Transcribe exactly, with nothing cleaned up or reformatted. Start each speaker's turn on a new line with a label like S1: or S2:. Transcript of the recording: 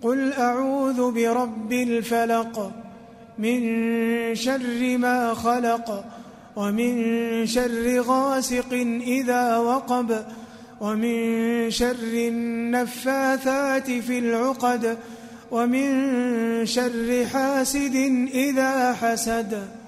S1: قل أعوذ برب الفلق من شر ما خلق ومن شر غاسق إذا وقب ومن شر النفاثات في العقد ومن شر حاسد إذا حسد.